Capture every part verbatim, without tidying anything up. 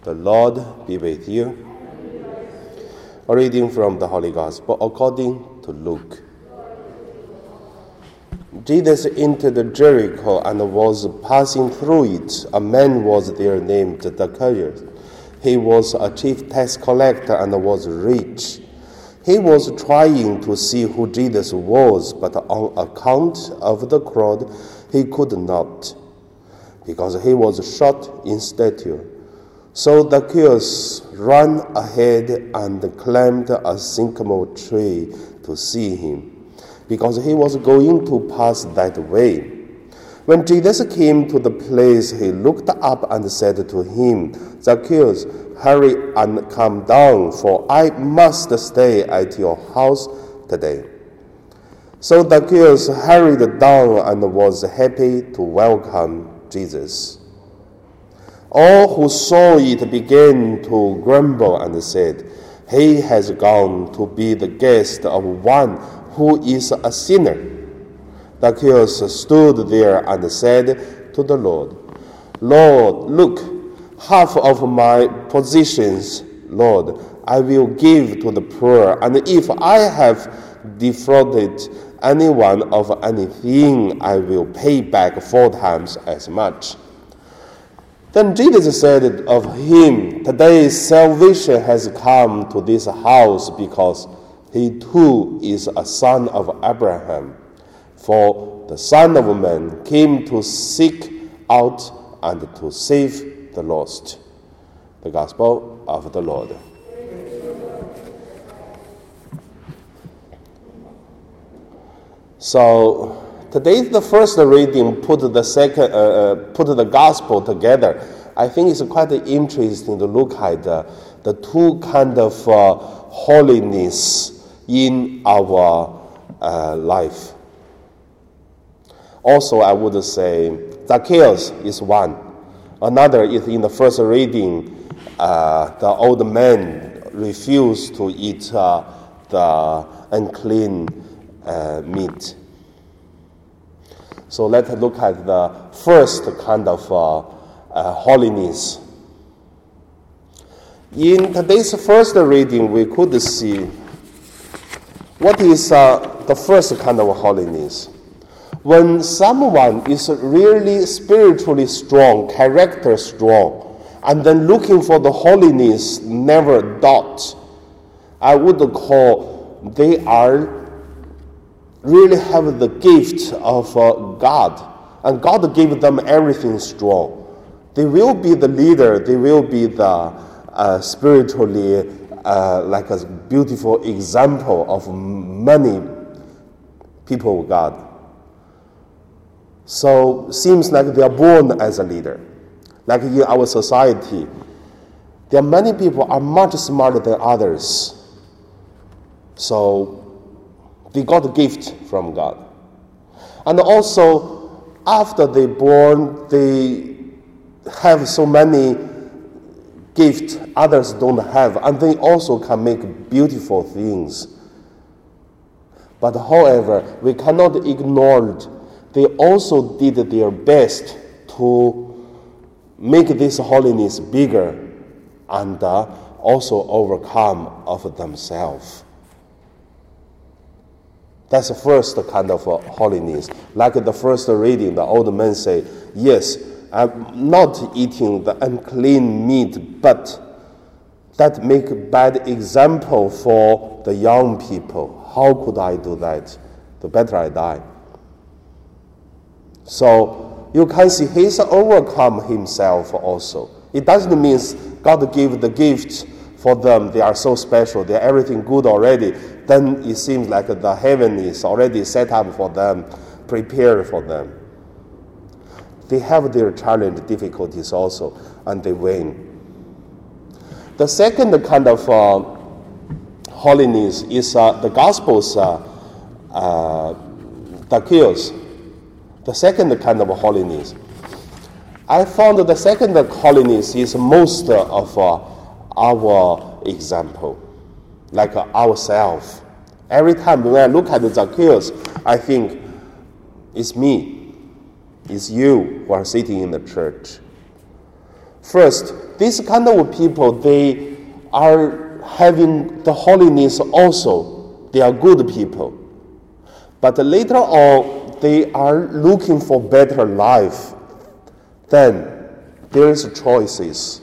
The Lord be with you. A reading from the Holy Gospel according to Luke. Jesus entered Jericho and was passing through it. A man was there named Zacchaeus. He was a chief tax collector and was rich. He was trying to see who Jesus was, but on account of the crowd, he could not, because he was short in stature. So Zacchaeus ran ahead and climbed a sycamore tree to see him, because he was going to pass that way. When Jesus came to the place, he looked up and said to him, "Zacchaeus, hurry and come down, for I must stay at your house today." So Zacchaeus hurried down and was happy to welcome Jesus. All who saw it began to grumble and said, "He has gone to be the guest of one who is a sinner." Zacchaeus stood there and said to the Lord, "Lord, look, half of my possessions, Lord, I will give to the poor, and if I have defrauded anyone of anything, I will pay back four times as much." Then Jesus said of him, "Today salvation has come to this house, because he too is a son of Abraham. For the Son of Man came to seek out and to save the lost." The Gospel of the Lord. So today the first reading put the second, uh, uh, put the Gospel together. I think it's quite interesting to look at uh, the two kind of uh, holiness in our uh, life. Also, I would say Zacchaeus is one. Another is in the first reading, uh, the old man refused to eat uh, the unclean uh, meat. So let's look at the first kind of uh, uh, holiness. In today's first reading, we could see what is uh, the first kind of holiness. When someone is really spiritually strong, character strong, and then looking for the holiness, never doubt, I would call they are really have the gift of uh, God, and God gave them everything strong. They will be the leader, they will be the uh, spiritually uh, like a beautiful example of many people of God. So seems like they are born as a leader. Like in our society, there are many people are much smarter than others. So they got a gift from God. And also, after they born, they have so many gifts others don't have, and they also can make beautiful things. But however, we cannot ignore it. They also did their best to make this holiness bigger and uh, also overcome of themselves. That's the first kind of uh, holiness. Like the first reading, the old man say, "Yes, I'm not eating the unclean meat, but that make a bad example for the young people. How could I do that? The better I die." So you can see he's overcome himself also. It doesn't mean God gave the gift for them. They are so special. They are everything good already. Then it seems like the heaven is already set up for them, prepared for them. They have their challenge, difficulties also, and they win. The second kind of uh, holiness is uh, the Gospel's uh, uh, Zacchaeus. The second kind of holiness. I found that the second holiness is most of uh, our example, like uh, ourselves. Every time when I look at Zacchaeus, I think it's me, it's you who are sitting in the church. First, these kind of people, they are having the holiness also. They are good people. But later on, they are looking for better life. Then there is choices.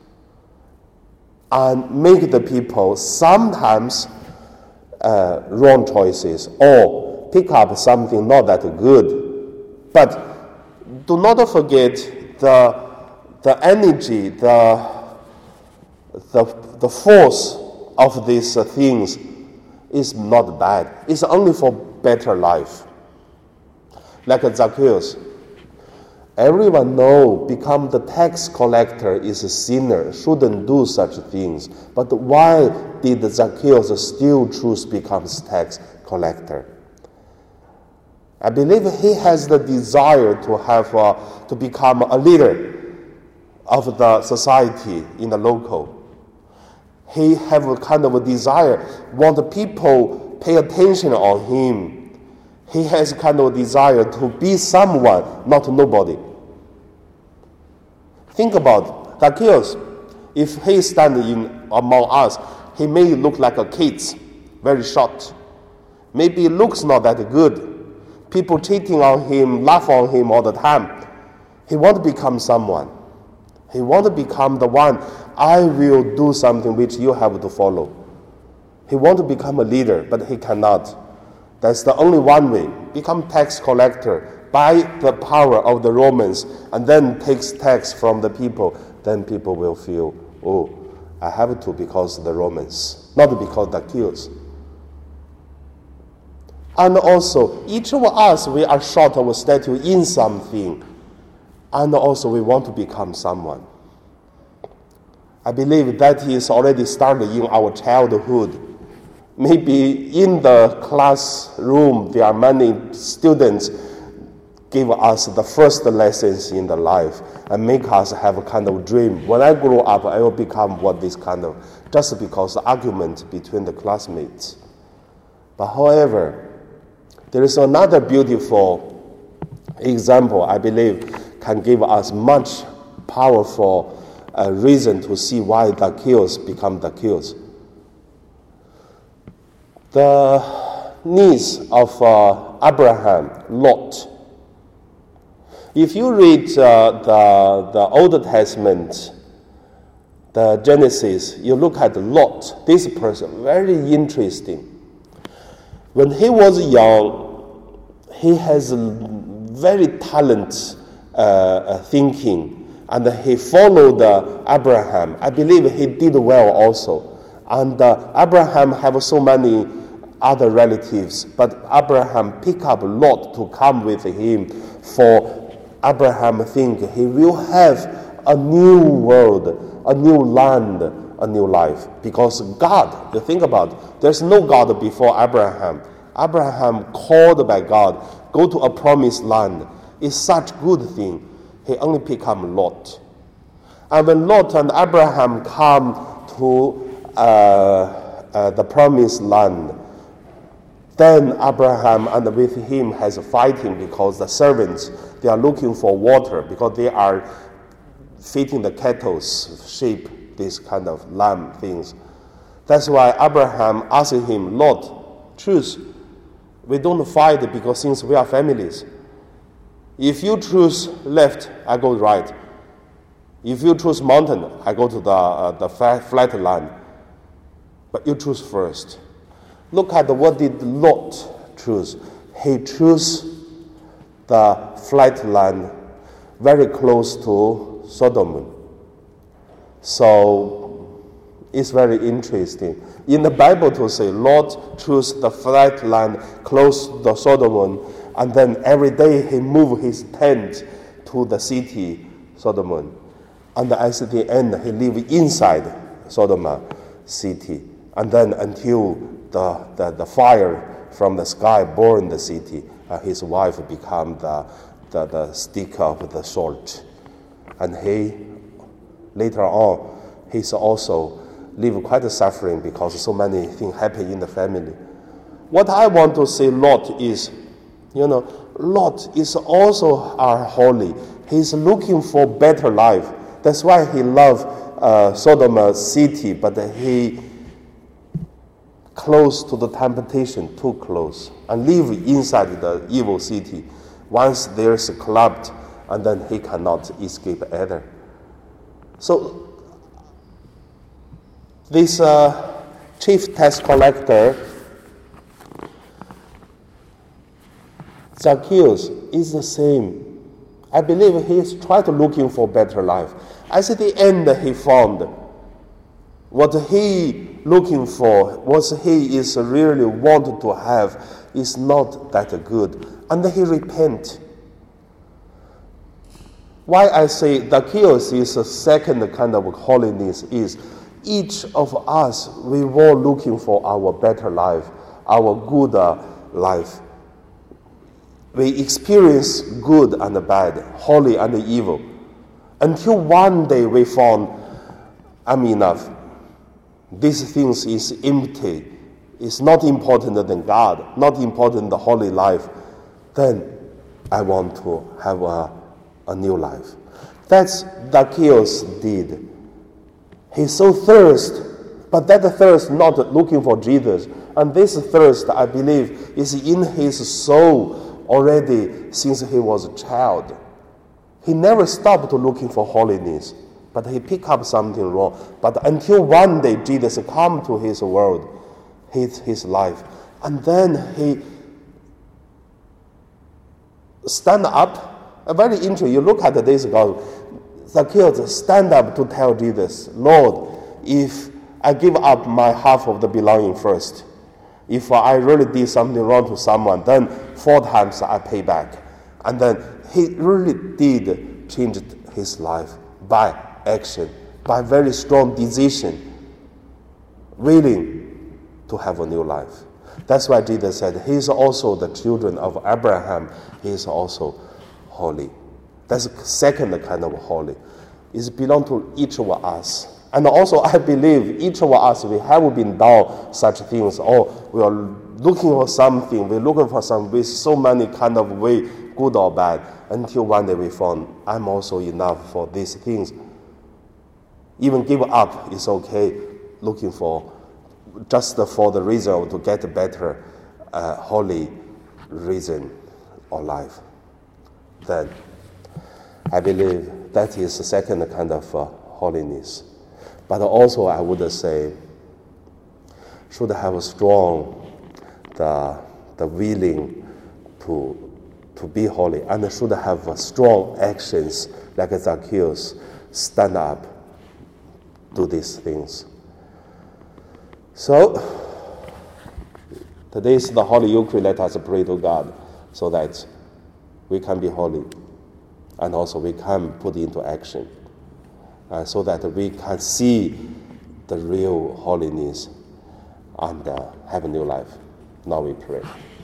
And make the people sometimes uh, wrong choices or pick up something not that good. But do not forget the the energy, the the the force of these uh, things is not bad. It's only for better life. Like Zacchaeus. Everyone know become the tax collector is a sinner, shouldn't do such things. But why did Zacchaeus still choose become tax collector? I believe he has the desire to have uh, to become a leader of the society in the local. He have a kind of a desire, want people pay attention on him. He has kind of a desire to be someone, not nobody. Think about Zacchaeus. If he stand in among us, he may look like a kid, very short. Maybe looks not that good. People cheating on him, laugh on him all the time. He want to become someone. He want to become the one. I will do something which you have to follow. He want to become a leader, but he cannot. That's the only one way. Become tax collector by the power of the Romans, and then takes tax from the people. Then people will feel, oh, I have to because of the Romans, not because Zacchaeus. And also, each of us, we are short of a statue in something. And also, we want to become someone. I believe that is already started in our childhood. Maybe in the classroom, there are many students give us the first lessons in the life and make us have a kind of dream. When I grow up, I will become what this kind of, just because the argument between the classmates. But however, there is another beautiful example, I believe, can give us much powerful uh, reason to see why Zacchaeus become Zacchaeus. The niece of uh, Abraham, Lot. If you read uh, the, the Old Testament, the Genesis, you look at Lot, this person, very interesting. When he was young, he has very talent uh, uh, thinking, and he followed uh, Abraham. I believe he did well also. And uh, Abraham have so many other relatives, but Abraham pick up Lot to come with him, for Abraham think he will have a new world, a new land, a new life. Because God, you think about it, there's no God before Abraham. Abraham called by God, go to a promised land. It's such good thing. He only pick up Lot. And when Lot and Abraham come to uh, uh, the promised land, then Abraham and with him has fighting because the servants, they are looking for water because they are feeding the cattle, sheep, this kind of lamb things. That's why Abraham asked him, Lord, choose. We don't fight because since we are families. If you choose left, I go right. If you choose mountain, I go to the, uh, the flat land. But you choose first. Look at what did Lot choose. He chose the flat land very close to Sodom. So it's very interesting. In the Bible to say, Lot chose the flat land close to Sodom, and then every day he moved his tent to the city, Sodom. And at the end, he lived inside Sodom city. And then until the, the, the fire from the sky burned the city, uh, his wife became the, the, the stick of the sword. And he, later on, he's also lived quite a suffering because so many things happen in the family. What I want to say, Lot is, you know, Lot is also our holy. He's looking for better life. That's why he loved uh, Sodom city, but he close to the temptation, too close, and live inside the evil city. Once there's corrupt, and then he cannot escape either. So this uh, chief tax collector, Zacchaeus, is the same. I believe he is trying to looking for better life. As at the end he found what he looking for, what he is really wanted to have, is not that good. And then he repent. Why I say Zacchaeus is a second kind of holiness is each of us, we were looking for our better life, our good uh, life. We experience good and bad, holy and evil, until one day we found, I'm enough. These things is empty. It's not important than God, not important than the holy life. Then I want to have a, a new life. That's Zacchaeus did. He so thirst, but that thirst not looking for Jesus. And this thirst, I believe, is in his soul already since he was a child. He never stopped looking for holiness, but he picked up something wrong. But until one day Jesus come to his world, his, his life, and then he stand up. Uh, very interesting. You look at this God, Zacchaeus stand up to tell Jesus, Lord, if I give up my half of the belonging first, if I really did something wrong to someone, then four times I pay back. And then he really did change his life by action, by very strong decision, willing to have a new life. That's why Jesus said, he is also the children of Abraham. He is also holy. That's the second kind of holy. It belongs to each of us. And also I believe each of us, we have been down such things. Oh, we are looking for something. We're looking for some with so many kind of way, good or bad, until one day we found, I'm also enough for these things. Even give up is okay, looking for just for the reason to get a better, uh, holy reason or life. Then I believe that is the second kind of uh, holiness. But also I would say, should have a strong, the, the willing to, to be holy, and should have a strong actions like Zacchaeus, stand up, do these things. So, today is the Holy Eucharist. Let us pray to God so that we can be holy and also we can put into action uh, so that we can see the real holiness and uh, have a new life. Now we pray.